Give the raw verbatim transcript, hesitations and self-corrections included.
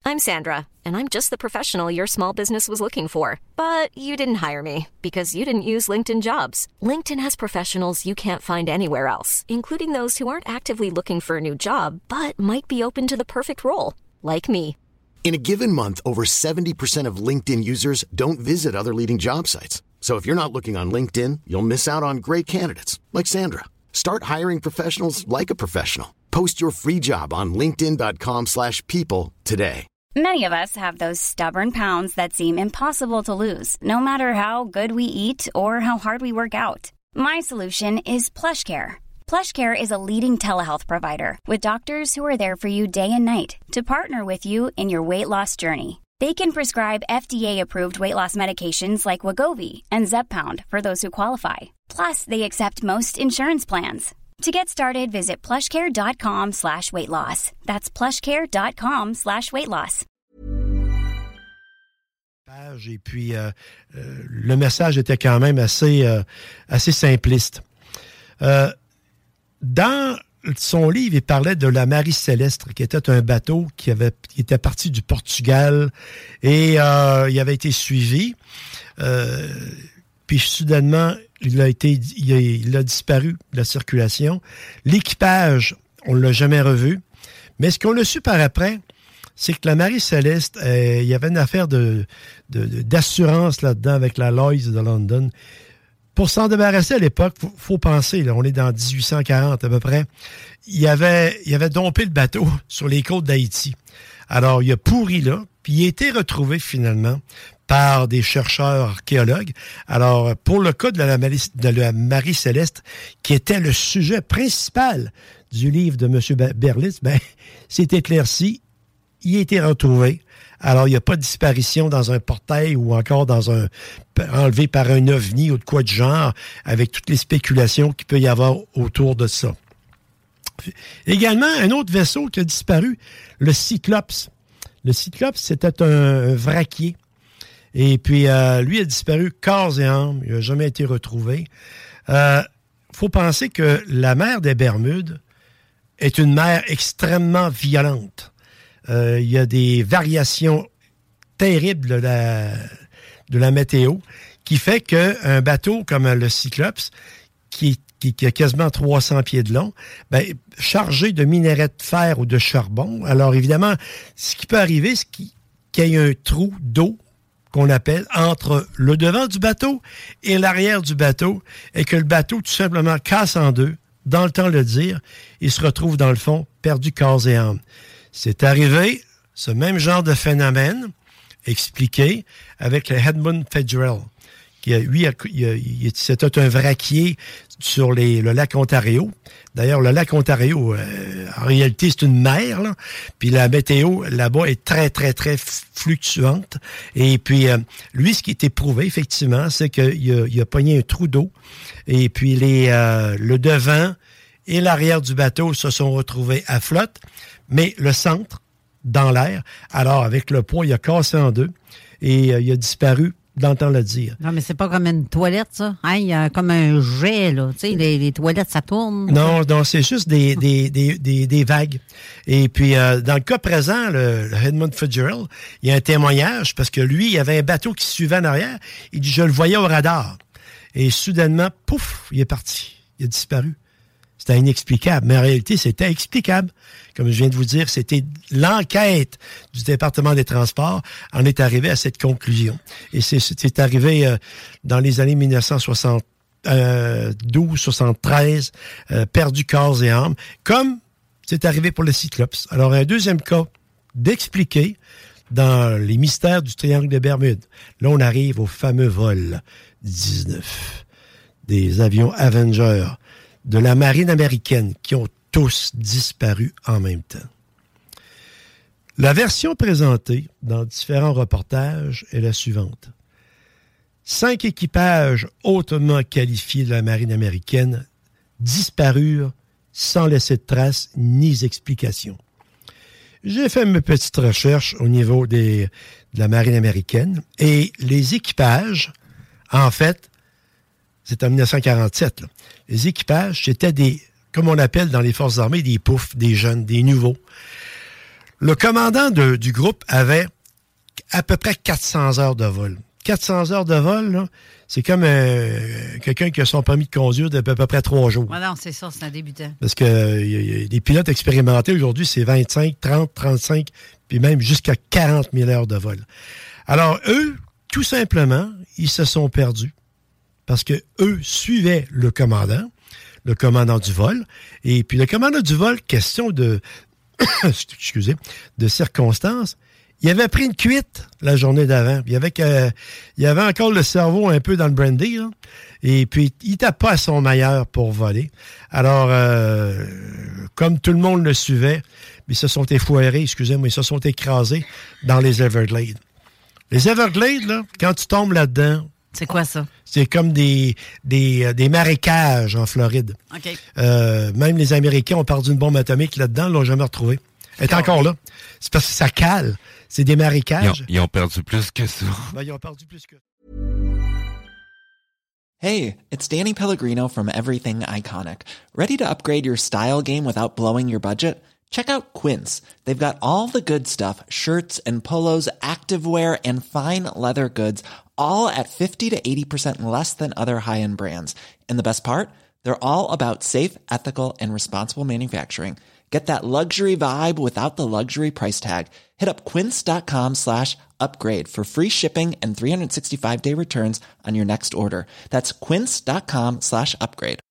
I'm Sandra, and I'm just the professional your small business was looking for. But you didn't hire me because you didn't use LinkedIn Jobs. LinkedIn has professionals you can't find anywhere else, including those who aren't actively looking for a new job, but might be open to the perfect role, like me. In a given month, over seventy percent of LinkedIn users don't visit other leading job sites. So if you're not looking on LinkedIn, you'll miss out on great candidates like Sandra. Start hiring professionals like a professional. Post your free job on linkedin.com slash people today. Many of us have those stubborn pounds that seem impossible to lose, no matter how good we eat or how hard we work out. My solution is PlushCare. PlushCare is a leading telehealth provider with doctors who are there for you day and night to partner with you in your weight loss journey. They can prescribe F D A-approved weight loss medications like Wegovy and Zepbound for those who qualify. Plus, they accept most insurance plans. To get started, visit plushcare.com slash weight loss. That's plushcare.com slash weight loss. Et puis, euh, euh, le message était quand même assez, euh, assez simpliste. Euh, dans son livre, il parlait de la Marie Céleste, qui était un bateau qui, avait, qui était parti du Portugal et euh, il avait été suivi. Euh, puis, soudainement, il a, été, il, a, il a disparu de la circulation. L'équipage, on ne l'a jamais revu. Mais ce qu'on a su par après, c'est que la Marie Céleste, euh, il y avait une affaire de, de, de, d'assurance là-dedans avec la Lloyd's de London. Pour s'en débarrasser à l'époque, il faut, faut penser, là, on est dans dix-huit cent quarante à peu près, il avait, il avait dompé le bateau sur les côtes d'Haïti. Alors, il a pourri là, puis il a été retrouvé finalement par des chercheurs archéologues. Alors, pour le cas de la, de la Marie Céleste, qui était le sujet principal du livre de M. Berlitz, ben, c'est éclairci, il a été retrouvé. Alors, il n'y a pas de disparition dans un portail ou encore dans un enlevé par un ovni ou de quoi de genre, avec toutes les spéculations qu'il peut y avoir autour de ça. Également, un autre vaisseau qui a disparu, le Cyclops. Le Cyclops, c'était un vraquier. Et puis, euh, lui a disparu corps et âme. Il n'a jamais été retrouvé. Il euh, faut penser que la mer des Bermudes est une mer extrêmement violente. Euh, il y a des variations terribles de la, de la météo qui fait qu'un bateau comme le Cyclops, qui, qui, qui a quasiment trois cents pieds de long, ben, chargé de minerais de fer ou de charbon, alors évidemment, ce qui peut arriver, c'est qu'il, qu'il y ait un trou d'eau qu'on appelle entre le devant du bateau et l'arrière du bateau, et que le bateau tout simplement casse en deux, dans le temps de le dire, il se retrouve dans le fond, perdu corps et âme. C'est arrivé, ce même genre de phénomène, expliqué, avec le Edmund Fitzgerald, qui, lui, il, il, c'était un vraquier sur les, le lac Ontario. D'ailleurs, le lac Ontario, euh, en réalité, c'est une mer, là. Puis la météo, là-bas, est très, très, très fluctuante. Et puis, euh, lui, ce qui est éprouvé, effectivement, c'est qu'il a, il a pogné un trou d'eau. Et puis, les, euh, le devant et l'arrière du bateau se sont retrouvés à flotte, mais le centre, dans l'air. Alors, avec le poids, il a cassé en deux et euh, il a disparu, dans le temps de le dire. Non, mais c'est pas comme une toilette, ça. Hein? Il y a comme un jet, là. Tu sais, les, les toilettes, ça tourne. Non, non, c'est juste des, des, des, des, des vagues. Et puis, euh, dans le cas présent, le, le Edmund Fitzgerald, il y a un témoignage parce que lui, il y avait un bateau qui suivait en arrière. Il dit, je le voyais au radar. Et soudainement, pouf, il est parti. Il a disparu. C'était inexplicable, mais en réalité, c'était explicable. Comme je viens de vous dire, c'était l'enquête du département des Transports en est arrivé à cette conclusion. Et c'est, c'est arrivé euh, dans les années dix-neuf cent soixante-douze soixante-treize, euh, perdu corps et âme, comme c'est arrivé pour le Cyclops. Alors, un deuxième cas d'expliquer dans les mystères du Triangle des Bermudes. Là, on arrive au fameux vol dix-neuf des avions Avenger de la marine américaine qui ont tous disparu en même temps. La version présentée dans différents reportages est la suivante. Cinq équipages hautement qualifiés de la marine américaine disparurent sans laisser de traces ni explications. J'ai fait mes petites recherches au niveau des, de la marine américaine et les équipages, en fait, c'est en dix-neuf cent quarante-sept, là. Les équipages, c'était des, comme on appelle dans les forces armées, des poufs, des jeunes, des nouveaux. Le commandant de, du groupe avait à peu près quatre cents heures de vol. quatre cents heures de vol, là, c'est comme euh, quelqu'un qui a son permis de conduire depuis à peu près trois jours. Ouais, non, c'est ça, c'est un débutant. Parce que euh, y a des pilotes expérimentés aujourd'hui, c'est vingt-cinq, trente, trente-cinq, puis même jusqu'à quarante mille heures de vol. Alors, eux, tout simplement, ils se sont perdus. Parce que eux suivaient le commandant, le commandant du vol. Et puis le commandant du vol, question de, excusez, de circonstances, il avait pris une cuite la journée d'avant. Il y avait, que, il y avait encore le cerveau un peu dans le brandy, là. Et puis, il n'était pas à son meilleur pour voler. Alors, euh, comme tout le monde le suivait, ils se sont effoirés, excusez-moi, ils se sont écrasés dans les Everglades. Les Everglades, là, quand tu tombes là-dedans... C'est quoi ça? C'est comme des, des, des marécages en Floride. OK. Euh, même les Américains ont perdu une bombe atomique là-dedans, ils l'ont jamais retrouvée. Elle est encore là. C'est parce que ça cale. C'est des marécages. Ils ont, ils ont perdu plus que ça. Ben, ils ont perdu plus que... Hey, it's Danny Pellegrino from Everything Iconic. Ready to upgrade your style game without blowing your budget? Check out Quince. They've got all the good stuff, shirts and polos, activewear, and fine leather goods, all at fifty to eighty percent less than other high-end brands. And the best part? They're all about safe, ethical, and responsible manufacturing. Get that luxury vibe without the luxury price tag. Hit up quince.com slash upgrade for free shipping and three sixty-five day returns on your next order. That's quince.com slash upgrade.